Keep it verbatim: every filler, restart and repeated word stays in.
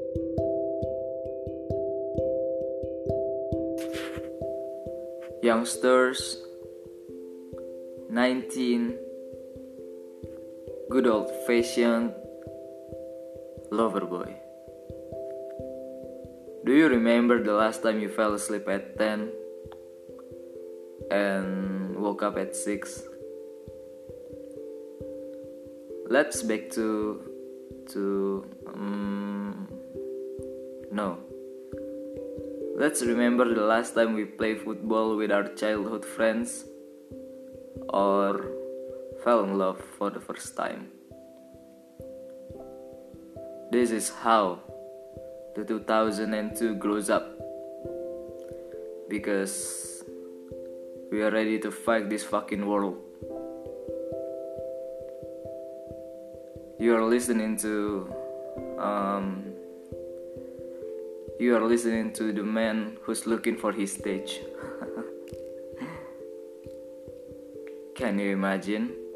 Youngsters, nineteen, good old fashioned lover boy. Do you remember the last time you fell asleep at ten and woke up at six? Let's back to to um, no. Let's remember the last time we played football with our childhood friends or fell in love for the first time. This is how the two thousand two grows up, because we are ready to fight this fucking world. You are listening to um, you are listening to the man who's looking for his stage. Can you imagine?